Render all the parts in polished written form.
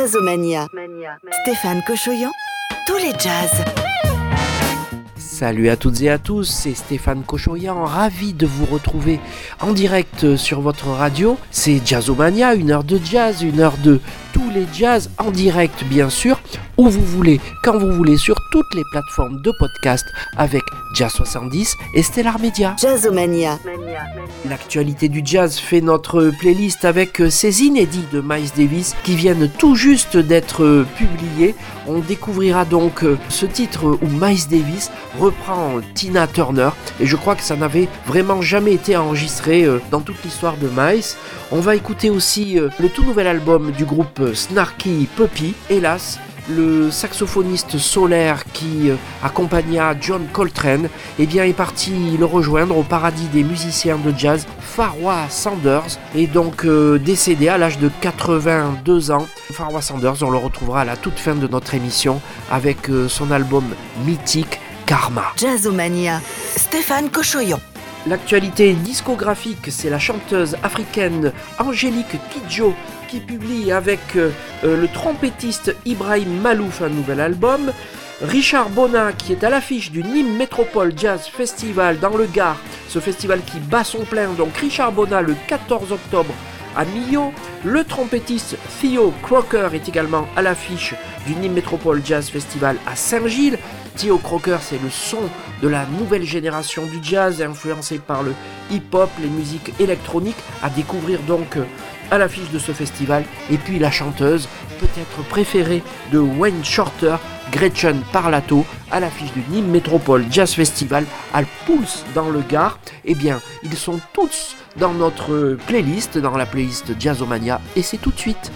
Jazzomania. Stéphane Cochoyan, tous les jazz. Salut à toutes et à tous, c'est Stéphane Cochoyan, ravi de vous retrouver en direct sur votre radio. C'est Jazzomania, une heure de jazz, une heure de tous les jazz en direct bien sûr, où vous voulez, quand vous voulez, sur toutes les plateformes de podcast avec Jazz 70 et Stellar Media. Jazzomania. L'actualité du jazz fait notre playlist avec ces inédits de Miles Davis qui viennent tout juste d'être publiés. On découvrira donc ce titre où Miles Davis reprend Tina Turner et je crois que ça n'avait vraiment jamais été enregistré dans toute l'histoire de Miles. On va écouter aussi le tout nouvel album du groupe Snarky Puppy, hélas. Le saxophoniste solaire qui accompagna John Coltrane est parti le rejoindre au paradis des musiciens de jazz. Pharoah Sanders est donc décédé à l'âge de 82 ans. Pharoah Sanders, on le retrouvera à la toute fin de notre émission avec son album mythique Karma. Jazzomania. Stéphane Cochoyan. L'actualité discographique, c'est la chanteuse africaine Angélique Kidjo qui publie avec le trompettiste Ibrahim Malouf un nouvel album. Richard Bona qui est à l'affiche du Nîmes Métropole Jazz Festival dans le Gard, ce festival qui bat son plein, donc Richard Bona le 14 octobre à Millau. Le trompettiste Theo Crocker est également à l'affiche du Nîmes Métropole Jazz Festival à Saint-Gilles. Theo Crocker, c'est le son de la nouvelle génération du jazz, influencé par le hip-hop, les musiques électroniques, à découvrir donc à l'affiche de ce festival. Et puis la chanteuse, peut-être préférée de Wayne Shorter, Gretchen Parlato, à l'affiche du Nîmes Métropole Jazz Festival à Pouls dans le Gard. Ils sont tous dans notre playlist, dans la playlist Jazzomania, et c'est tout de suite.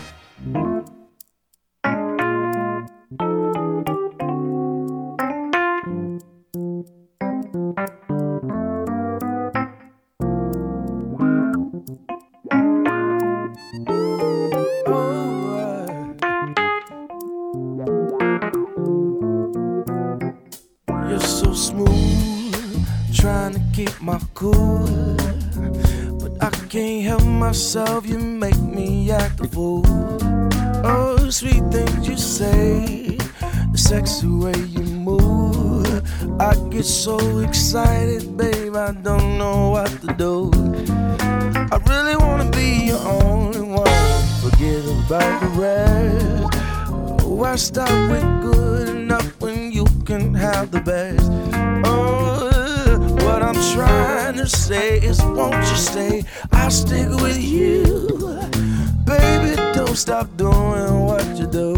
Myself, you make me act a fool. Oh, sweet things you say, the sexy way you move. I get so excited, babe, I don't know what to do. I really wanna be your only one, forget about the rest. Why stop with good enough when you can have the best? Oh, what I'm trying to say is, won't you stay? I'll stick with you, baby. Don't stop doing what you do.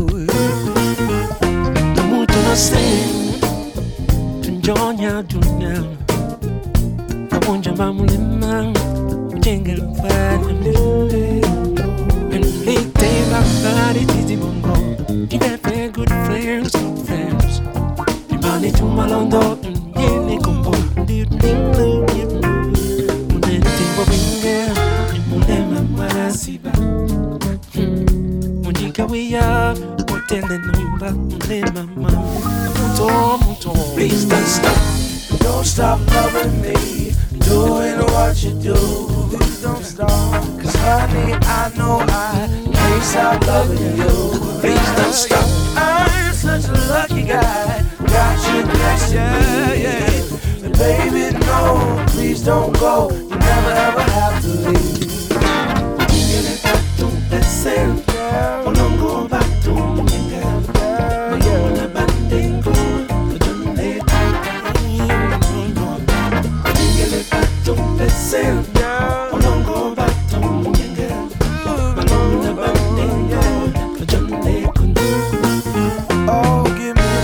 The mood to say, tunjonya dunya, kabonja mamulima, ujenga mfanya mlele. And late day body titi bongo, you got very good friends, You money to malondo, yene kombo. Please don't stop loving me, doing what you do. Please don't stop, 'cause honey, I know I can't stop loving you. Please don't stop, I'm such a lucky guy, got you next to me. But baby, no, please don't go, you never ever have to leave. Oh, give me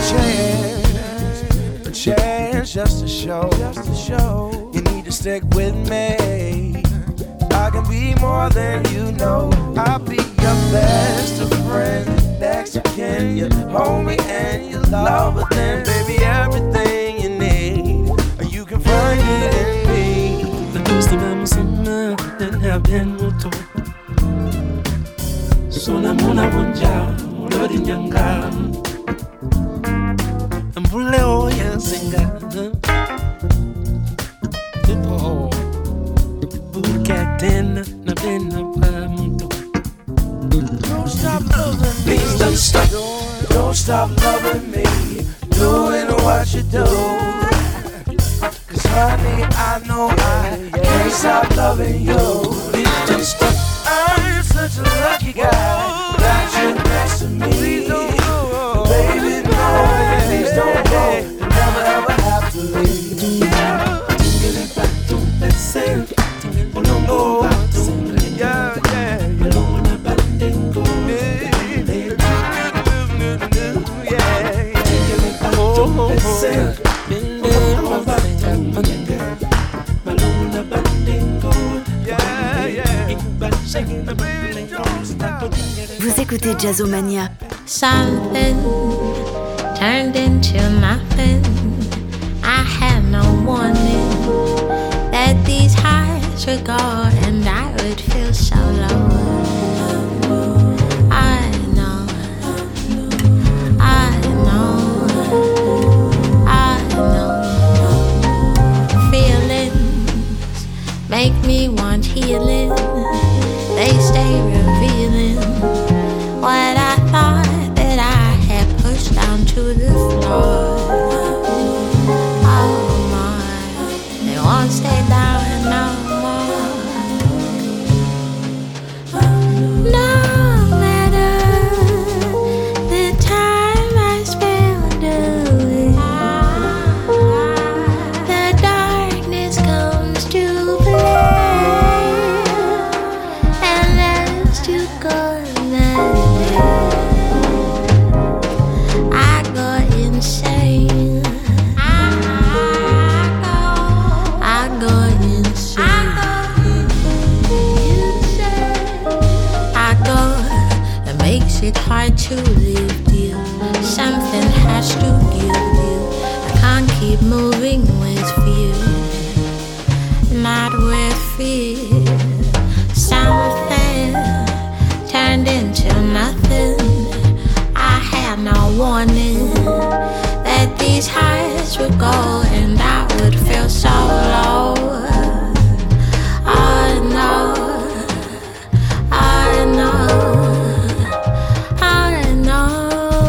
a chance just to show. You need to stick with me. I can be more than you know. I'll be your best of friend, next to kin. You hold me and you love it, then baby, everything you need, you can find it in me. The toast of Amazon, then have been moto. Sona mona wanja, lodi nyanga. Mbule oya singa. People, buka tena na tena pa moto. Don't stop Please don't stop. Don't stop loving me. Doing what you do. Cause honey, I know I can't stop loving you. Please don't stop. I'm such a lucky guy that you're next to me. Please don't go. Baby, no, please don't go. You never ever have to leave. Vous écoutez Jazzomania. Something turned into nothing. I had no warning that these highs would go and I would feel so low. I know, I know, I know. Feelings make me want healing. They stay revealing what I thought that I had pushed down to the floor. Oh my, they won't stay down no more. No matter the time I spend away, the darkness comes to play, and as to go. I go insane. I go insane. I go. It makes it hard to live, dear. Something has to give, dear. I can't keep moving with fear, not with fear. Something turned into nothing. I had no warning that these highs would go and I would feel so low. I know, I know, I know.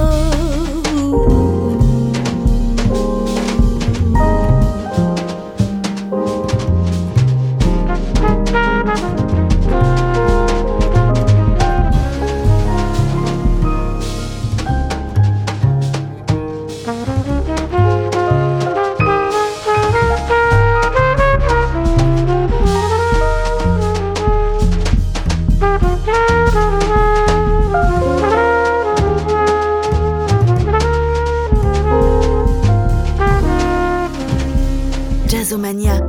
Jazzomania.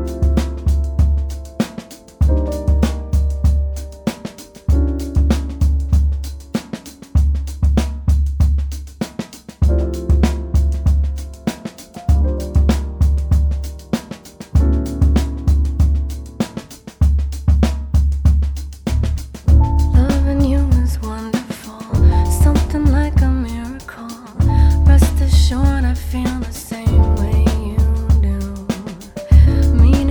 Loving you is wonderful, something like a miracle. Rest assured I feel the same way you do. Meaning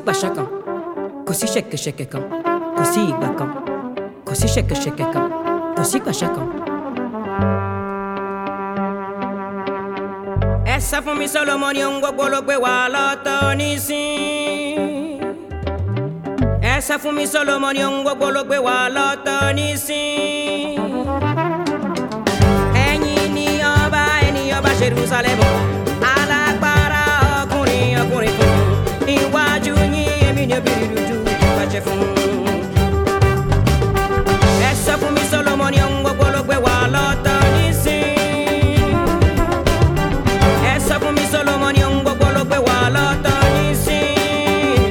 Bashaka, Kosi Sheke Shekeka, Kosi Baka, Kosi Sheke Shekeka, Kosi Bashaka. Essa fún mi Solomon yóò gbogbo ló gbé wa lọ́tọ̀ nísìn. Essa fún mi Solomon yóò gbogbo ló gbé wa lọ́tọ̀ nísìn. Ẹ̀yin ni ọba Jerusalem. Alágbára ọkùnrin fún. Iwájú yín èmi ni obìnrin dúdú ìbàjẹ́ fún. Essa fún mi Solomon yóò gbogbo ló gbé wa lọ́tọ̀ nísìn. Essa fún mi Solomon yóò gbogbo ló gbé wa lọ́tọ̀ nísìn.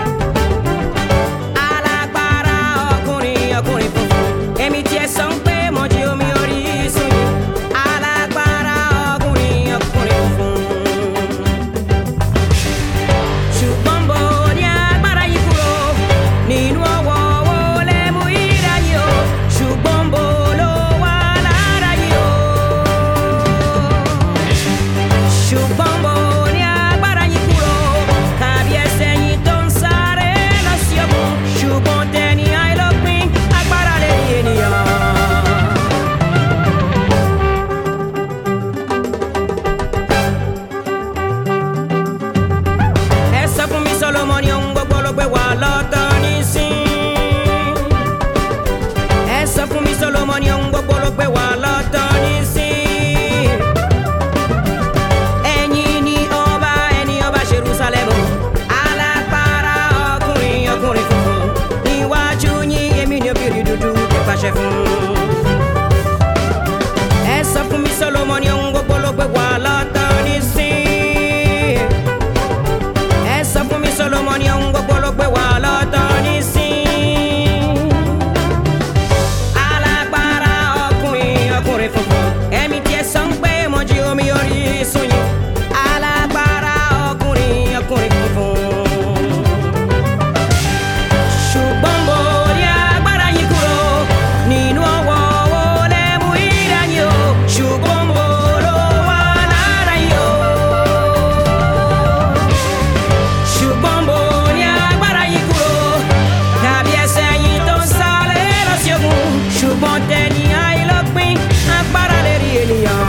Alágbára ọkùnrin fún. Èmi tí ẹ sọ pé mo jí omi orísun yìí. Alágbára ọkùnrin fún. Ṣùgbọ́n bò ní agbára yìí kúrò nínú ọwọ́ wo lè mú ìdá yìí o. Ṣùgbọ́n bò ló wà lára yìí o. Ṣùgbọ́n bò ní agbára yìí kúrò tàbí ẹsẹ̀ yìí tó ń sáré lọ sí òkun. Ṣùgbọ́n tẹni àìlópin agbára lè rí ènìyàn. Essa fún mi Solomon yóò gbogbo ló gbé wa lọ́tọ̀ nísìn. Essa fún mi Solomon yóò gbogbo ló gbé wa lọ́tọ̀ nísìn. Ẹ̀yin ni ọba Jerusalem. Alágbára ọkùnrin funfun. Níwájú yín èmi ni obìnrin dúdú ìbàjẹ́ fún. Essa fún mi Solomon yóò gbogbo ló gbé wa lọ́tọ̀ nísìn. Essa fún mi Solomon yóò gbogbo ló gbé wa lọ́tọ̀ nísìn. Alágbára ọkùnrin funfun. Ẹ̀mí tí ẹ sọ pé mo jí omi orísun yìí. Alágbára ọkùnrin funfun. Ṣùgbọ́n bò ní agbára yìí kúrò nínú ọwọ́ wo lè mú ìdá yìí o. Ṣùgbọ́n bò ló wà lára yìí o. Ṣùgbọ́n bò ní agbára yìí kúrò tàbí ẹsẹ̀ yìí tó ń sáré lọ sí òkun. Ṣùgbọ́n tẹni àìlópin agbára lè rí ènìyàn.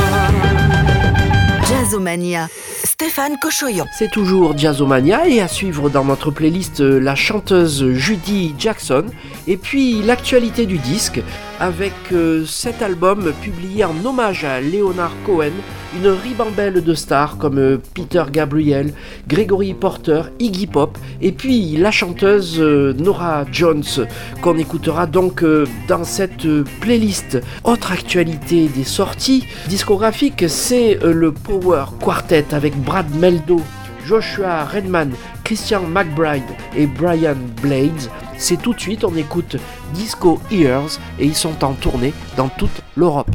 Jazzomania, Stéphane Cochoyan. C'est toujours Jazzomania et à suivre dans notre playlist la chanteuse Judy Jackson et puis l'actualité du disque avec cet album publié en hommage à Leonard Cohen, une ribambelle de stars comme Peter Gabriel, Gregory Porter, Iggy Pop et puis la chanteuse Norah Jones qu'on écoutera donc dans cette playlist. Autre actualité des sorties discographiques, c'est le Power Quartet avec Brad Meldo, Joshua Redman, Christian McBride et Brian Blades. C'est tout de suite, on écoute Disco Ears et ils sont en tournée dans toute l'Europe.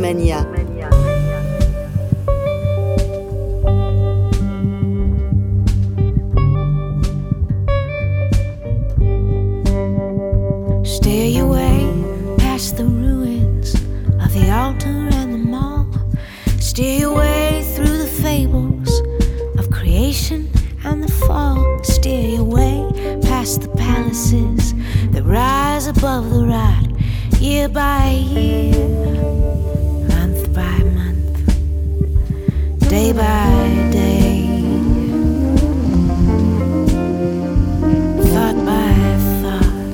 Discomania. Stay away past the ruins of the altar and the mall. Stay away through the fables of creation and the fall. Stay away past the palaces that rise above the rot, year by year, month by month, day by day, thought by thought.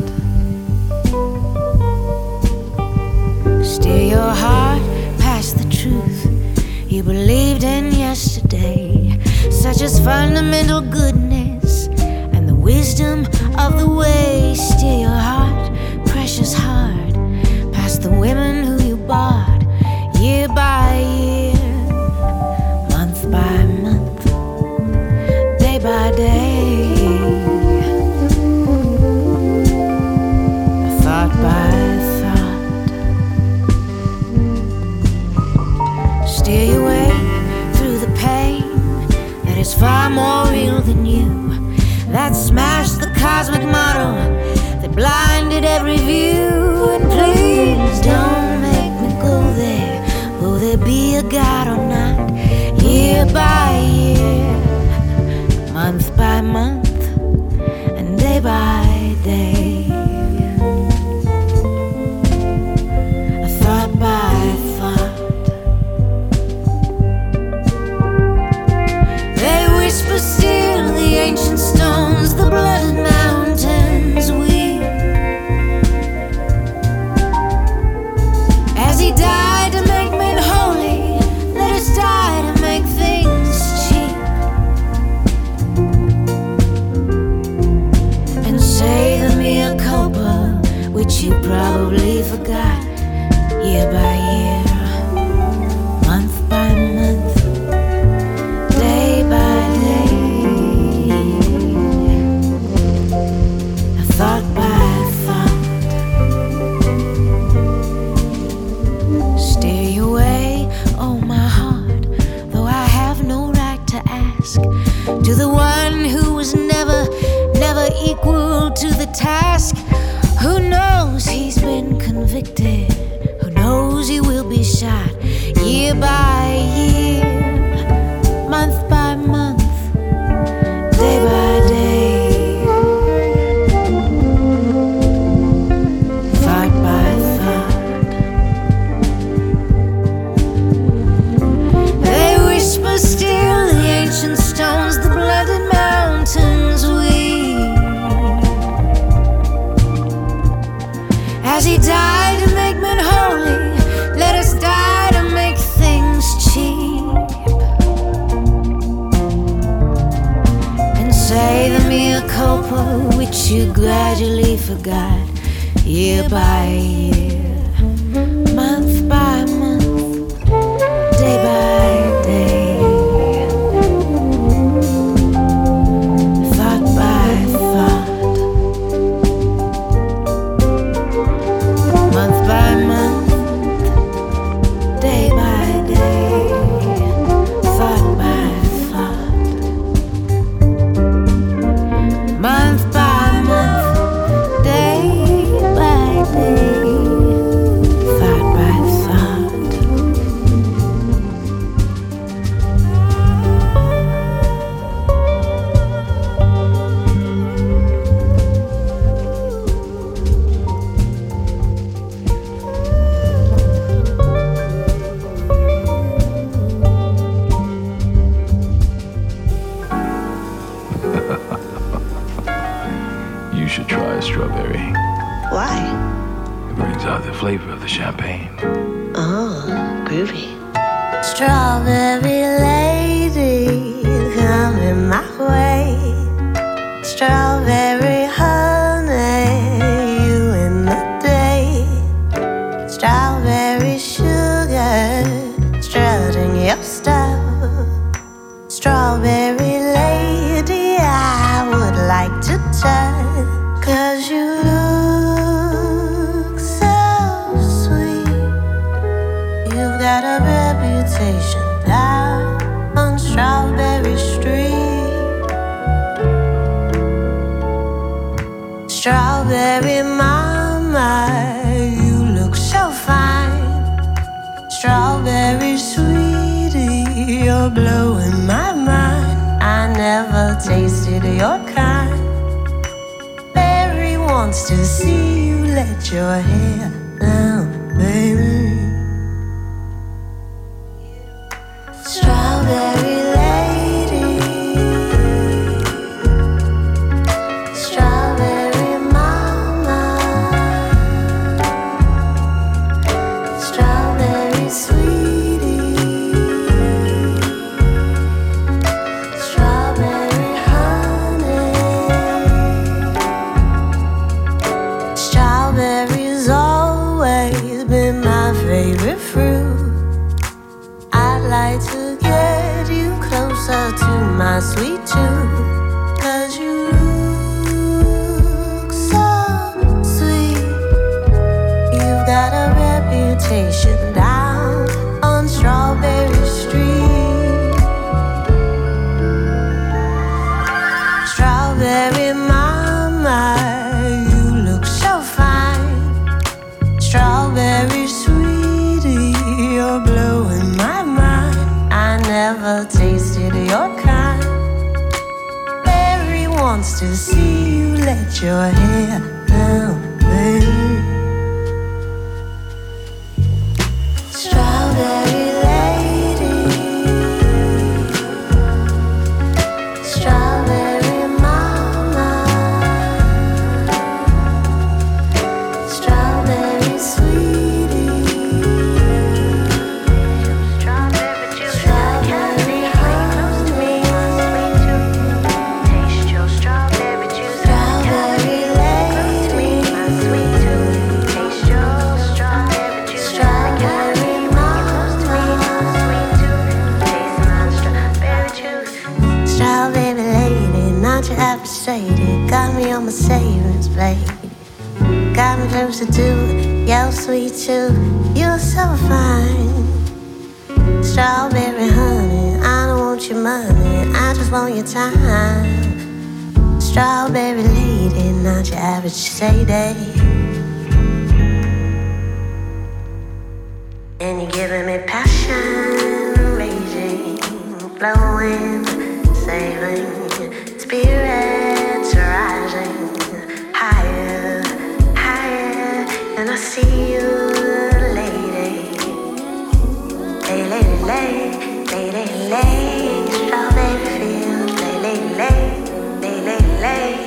Steer your heart past the truth you believed in yesterday, such as fundamental goodness and the wisdom of the way. Steer your heart, precious heart, past the women who you bought, year by year, month by month, day by day, thought by thought. Steer your way through the pain that is far more real than you, that smashed the cosmic model, that blinded every view. And please don't make me go there, will there be a God or not? Year by year, month by month, and day by day, thought by thought. They whisper still, the ancient stones, the blooded mountains weep, as he died to make men holy. Let us die to make things cheap, and say the mea culpa, which you probably forgot, year by year, month by month, day by day, thought by thought. Steer your way, oh my heart, though I have no right to ask, to the one who was never equal to the task. Who knows he's been convicted, who knows he will be shot, year by year, month by month, day by day, thought by thought. They whisper still, the ancient stones, the blooded mountains weep, as he died to make men holy. Let us die to make things cheap, and say the mea culpa, which you gradually forgot, year by year, month by month, day by day, thought by thought, month by month, day by day, thought by thought, month by month, day by day, thought by thought. You should try a strawberry. Why? It brings out the flavor of the champagne. Oh, groovy. Strawberry lady, coming my way. Strawberry honey, you in the day. Strawberry sugar, strutting your stuff. Strawberry lady, I would like to touch, 'cause you look so sweet. You've Strawberry mama, you look so fine. Strawberry sweetie, you're blowing my mind. I never tasted your kind. Berry wants to see you let your hair down, baby. Strawberry lady, strawberry mama, strawberry sweetie, strawberry honey. Strawberry's always been my favorite fruit. I'd like to get you closer to my sweet tooth, 'cause you look so sweet. You've got a reputation down on Strawberry Street. Strawberry mama, you look so fine. Strawberry sweetie, you're blowing my mind. I never tasted your kind. Berry wants to see you let your hair down, baby. Strawberry lady, strawberry mama, strawberry sweetie, strawberry juice. Strawberry honey, taste your strawberry juice. Strawberry lady, my sweet tooth, taste your strawberry juice. Strawberry mama, sweet tooth, taste my strawberry juice. Strawberry lady, not your appreciated, got me on my savings plate. Got me closer to your sweet tooth. You're so fine. Strawberry honey, I don't want your money, I just want your time. Strawberry lady, not your average Sadie. And you're giving me passion, raging, blowing, sailing, spirits rising higher, higher. And I see you, lady, lady, lady, lady, lady, strawberry fields, lady, lady, lady, lady,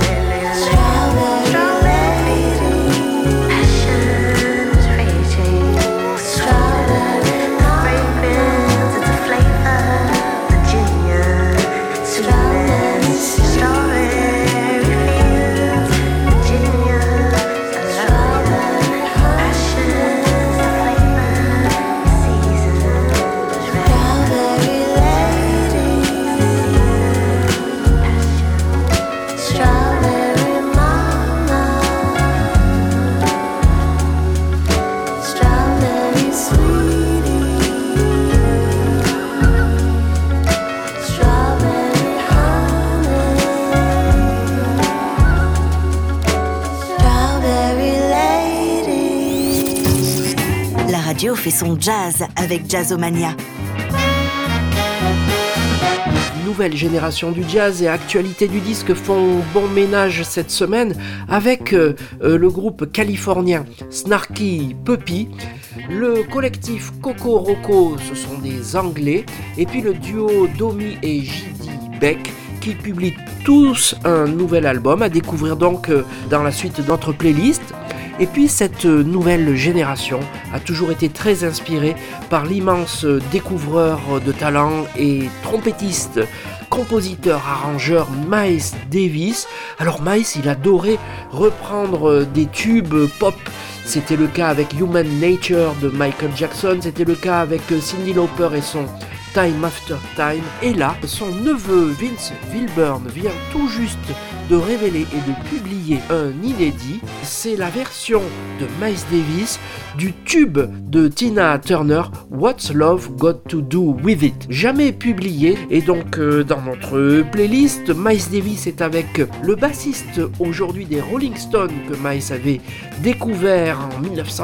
strawberry, passion is raging, strawberry fragrance, it's a flavor, Virginia, sweetness, strawberry fields, Virginia, strawberry passion is the flavor, season, strawberry lady, strawberry mama, strawberry sweetie, strawberry honey, strawberry lady. La radio fait son jazz avec Jazzomania. Nouvelle génération du jazz et actualité du disque font bon ménage cette semaine avec le groupe californien Snarky Puppy, le collectif Coco Roco, ce sont des Anglais, et puis le duo Domi et J.D. Beck qui publient tous un nouvel album à découvrir donc dans la suite de notre playlist. Et puis cette nouvelle génération a toujours été très inspirée par l'immense découvreur de talent et trompettiste, compositeur, arrangeur Miles Davis. Alors Miles, il adorait reprendre des tubes pop. C'était le cas avec Human Nature de Michael Jackson, c'était le cas avec Cyndi Lauper et son Time After Time. Et là, son neveu Vince Wilburn vient tout juste de révéler et de publier un inédit. C'est la version de Miles Davis du tube de Tina Turner, What's Love Got to Do With It, jamais publié. Et donc dans notre playlist, Miles Davis est avec le bassiste aujourd'hui des Rolling Stones que Miles avait découvert en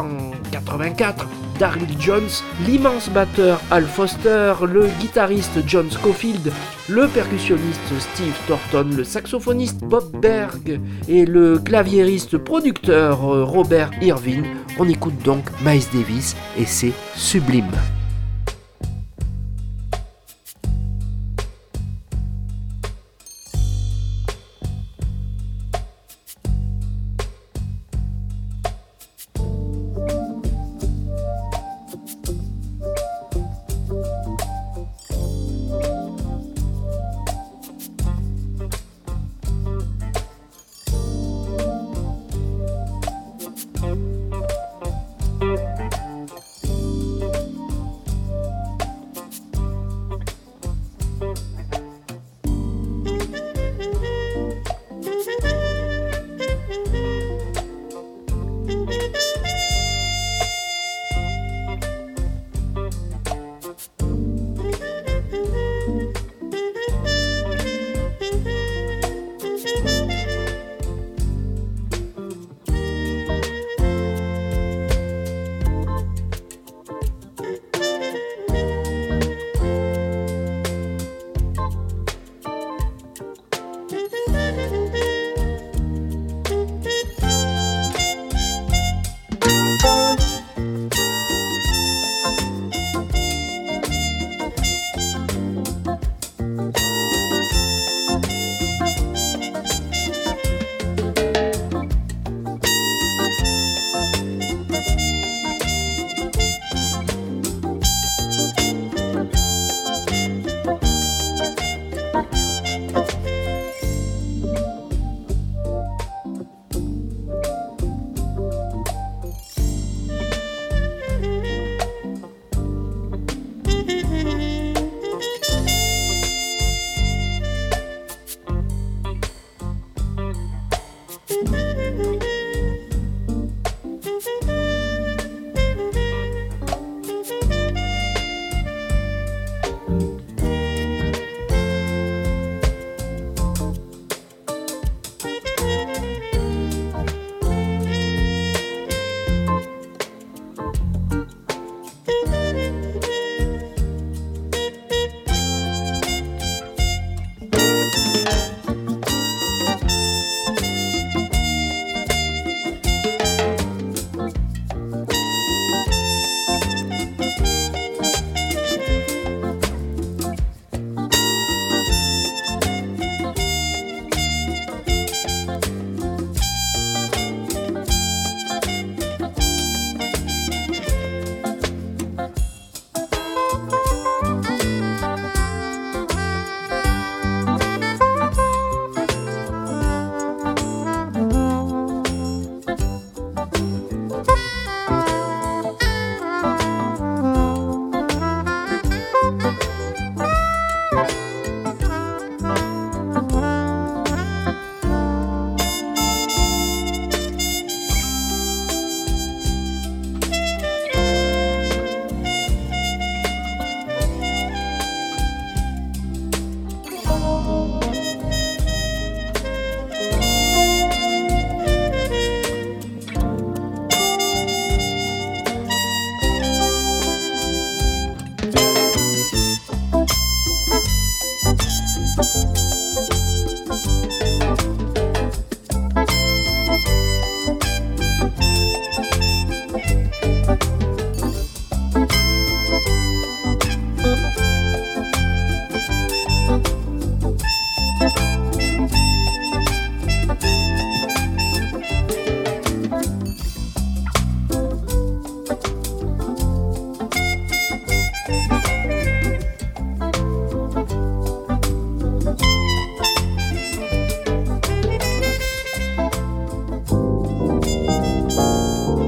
1984, Daryl Jones, l'immense batteur Al Foster, le guitariste John Scofield, le percussionniste Steve Thornton, le saxophoniste Bob Berg et le claviériste producteur Robert Irvine. On écoute donc Miles Davis et c'est sublime.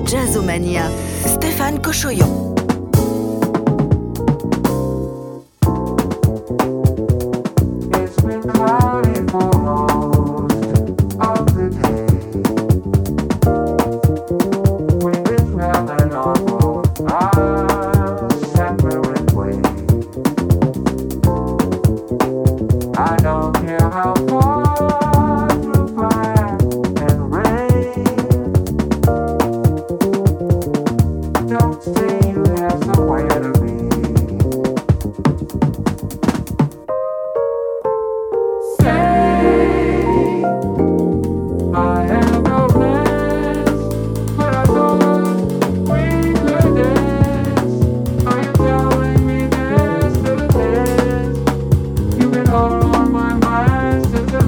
Jazzomania, Stéphane Cochoyan. All my mind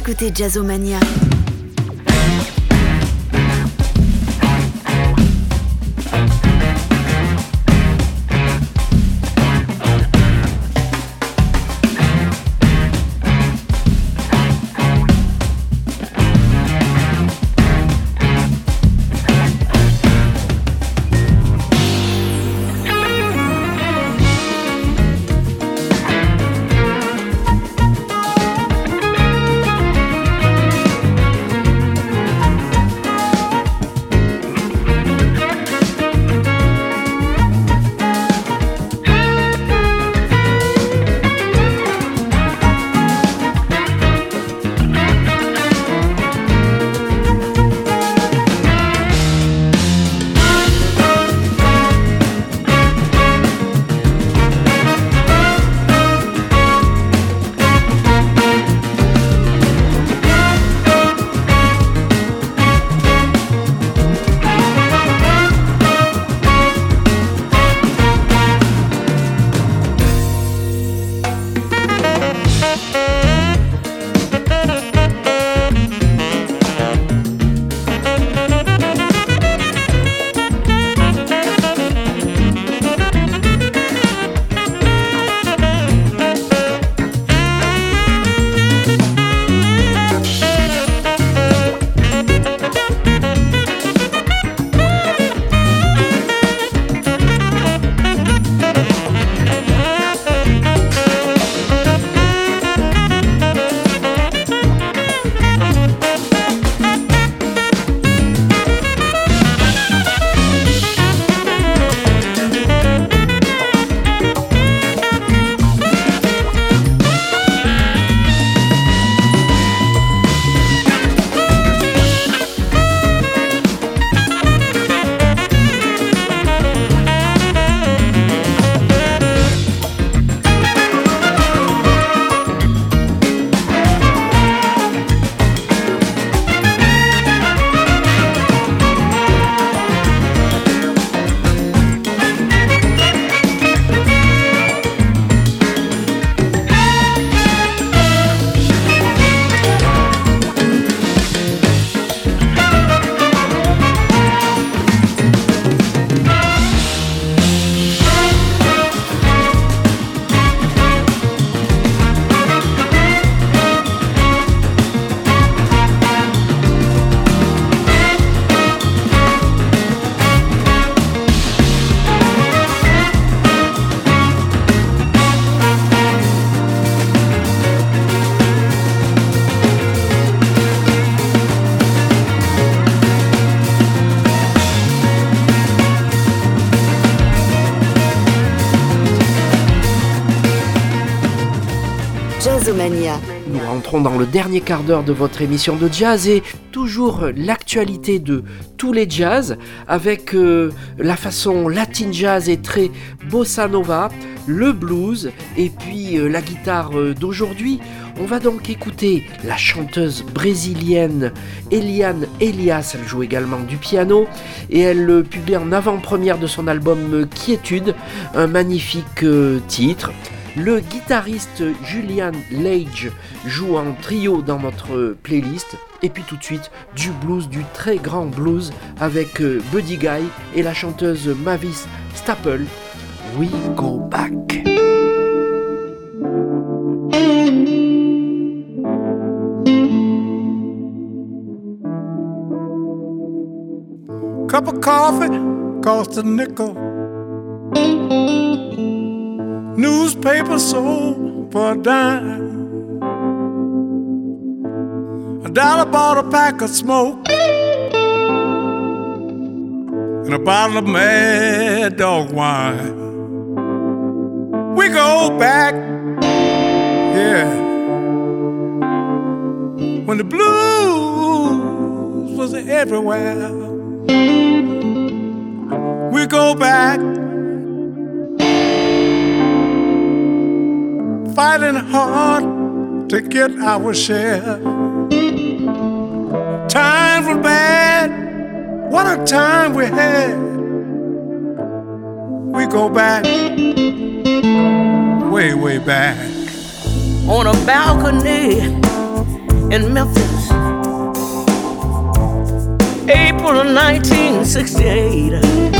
écoutez Jazzomania. Jazzomania. Nous rentrons dans le dernier quart d'heure de votre émission de jazz et toujours l'actualité de tous les jazz avec la façon latin jazz et très bossa nova, le blues et puis la guitare d'aujourd'hui. On va donc écouter la chanteuse brésilienne Eliane Elias, elle joue également du piano et elle publie en avant-première de son album Quiétude un magnifique titre. Le guitariste Julian Lage joue en trio dans notre playlist. Et puis tout de suite, du blues, du très grand blues avec Buddy Guy et la chanteuse Mavis Staples. We Go Back. Cup of coffee cost a nickel. Newspaper sold for a dime. $1 bought a pack of smoke and a bottle of Mad Dog wine. We go back, yeah, when the blues was everywhere. We go back, fighting hard to get our share. Times were bad, what a time we had. We go back, way, way back. On a balcony in Memphis, April of 1968.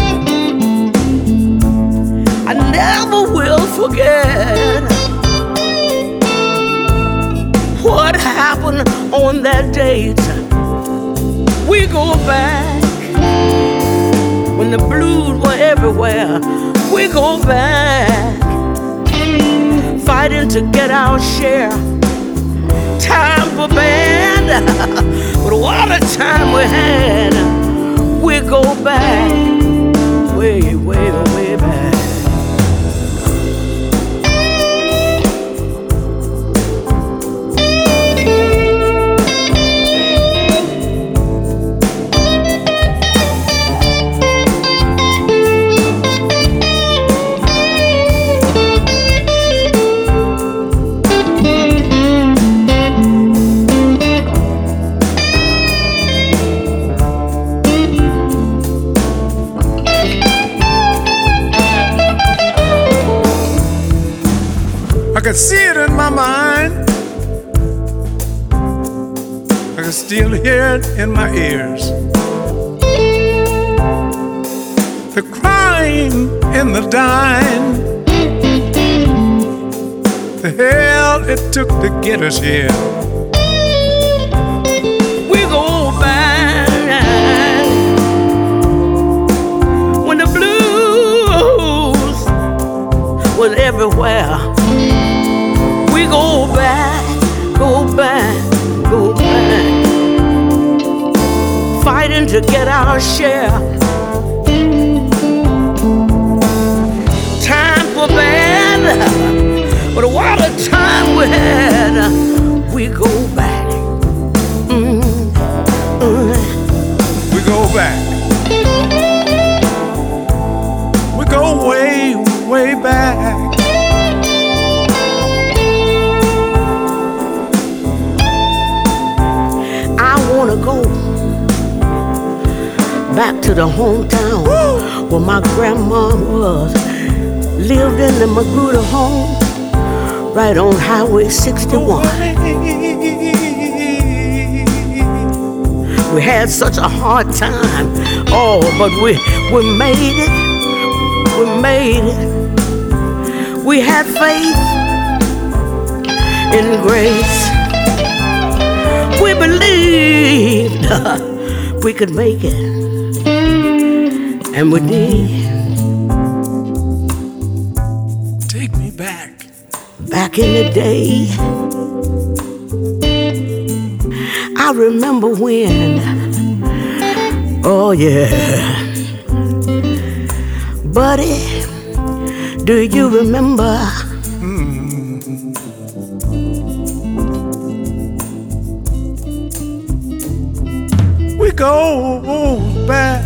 I never will forget what happened on that date. We go back when the blues were everywhere. We go back fighting to get our share. Time for band, but what a time we had. We go back, way, way, way back. I could see it in my mind. I could still hear it in my ears. The crying and the dying, the hell it took to get us here. We go back when the blues was everywhere. We go back, go back, go back, fighting to get our share. Time for band, but what a time we had. We go back. We go back. We go way, way back. I wanna go back to the hometown where my grandma was. Lived in the Magruder home, right on Highway 61. We had such a hard time, oh, but we made it. We made it. We had faith in grace. We believed we could make it, and we did. Take me back. Back in the day, I remember when, oh yeah, buddy, do you remember? We go back.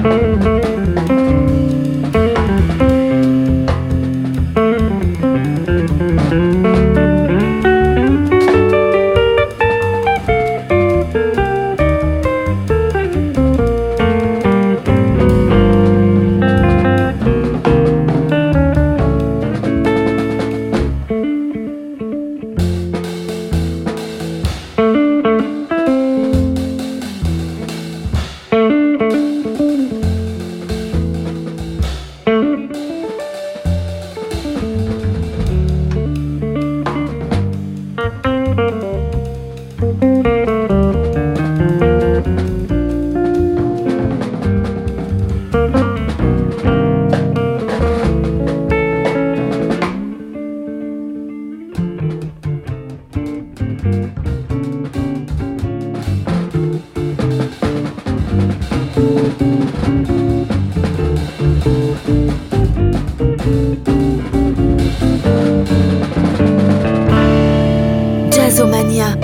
Jazzomania.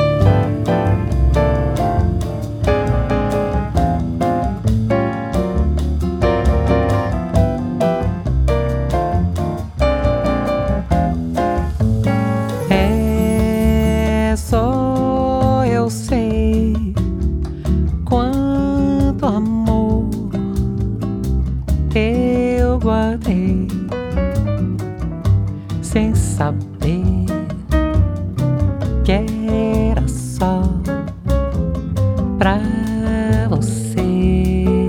É só eu sei quanto amor eu guardei sem saber que era só pra você.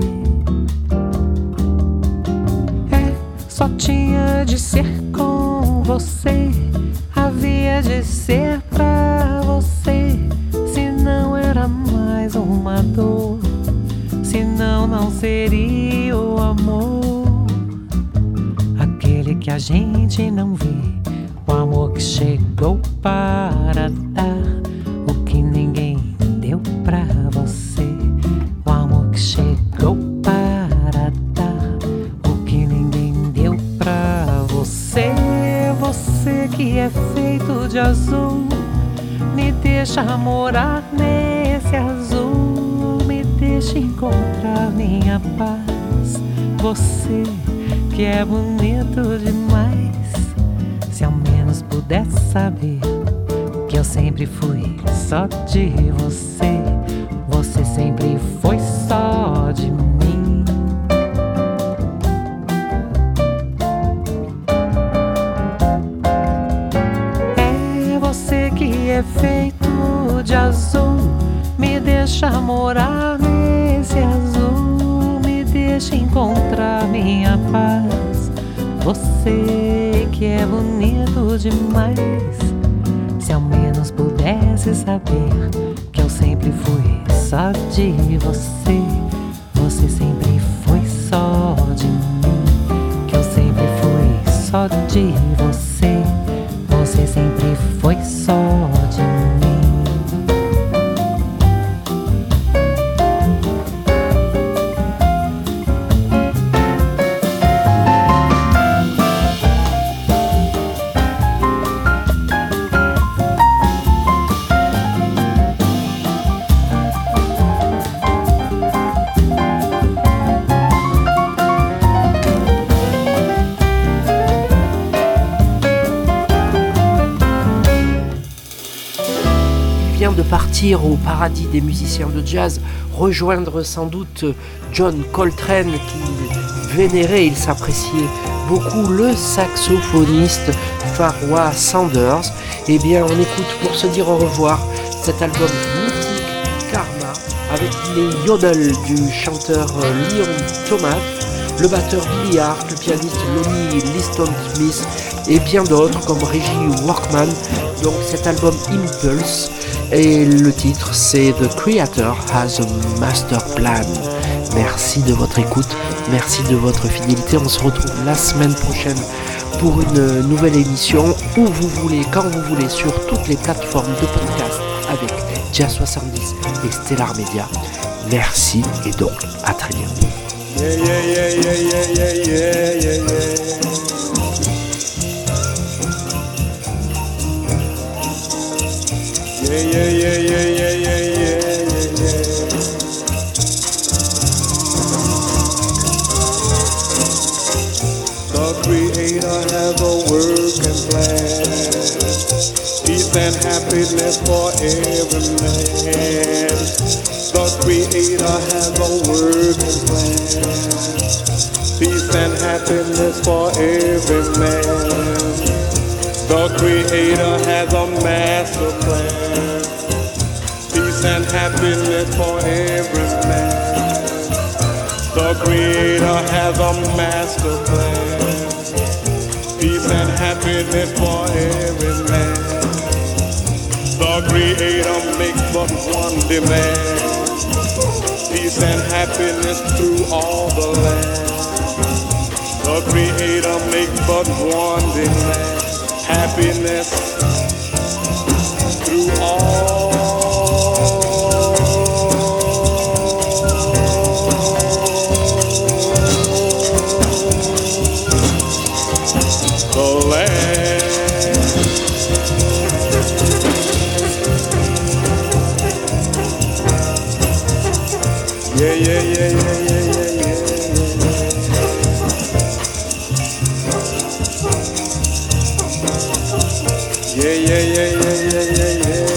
Só tinha de ser com você, havia de ser pra você. Se não era mais uma dor, senão não seria o amor, aquele que a gente não vê, o amor que chegou para dar o que ninguém deu pra você, o amor que chegou para dar o que ninguém deu pra você. Você que é feito de azul, me deixa morar nesse azul, me deixa encontrar minha paz. Você que é bonito demais, se ao menos pudesse saber que eu sempre fui só de você, você sempre foi só de mim. É você que é feito de azul, me deixa morar nesse azul, me deixa encontrar minha paz. Você que é bonito demais, se ao menos pudesse saber que eu sempre fui só de você, você sempre foi só de mim, que eu sempre fui só de você, você sempre foi só de mim. De partir au paradis des musiciens de jazz, rejoindre sans doute John Coltrane qui vénérait, il s'appréciait beaucoup le saxophoniste Pharoah Sanders. Eh bien on écoute pour se dire au revoir cet album mythique Karma avec les yodels du chanteur Leon Thomas, le batteur Billy Hart, le pianiste Lonnie Liston Smith et bien d'autres comme Reggie Workman. Donc cet album Impulse, et le titre c'est The Creator Has a Master Plan. Merci de votre écoute, merci de votre fidélité. On se retrouve la semaine prochaine pour une nouvelle émission où vous voulez, quand vous voulez, sur toutes les plateformes de podcast avec Jazz 70 et Stellar Media. Merci et donc à très bientôt. Yeah, yeah, yeah, yeah, yeah, yeah, yeah, yeah, yeah. Yeah, yeah, yeah, yeah, yeah, yeah, yeah, yeah, yeah. land. Peace and happiness for every man. The Creator has a working plan. Peace and happiness for every man. The Creator has a master plan. Peace and happiness for every man. The Creator has a master plan. Peace and happiness for every man. The Creator makes but one demand. Peace and happiness through all the land. The Creator makes but one demand. Happiness through all the land. Yeah, yeah, yeah, yeah, yeah, yeah, yeah, yeah, yeah, yeah, yeah, yeah, yeah, yeah.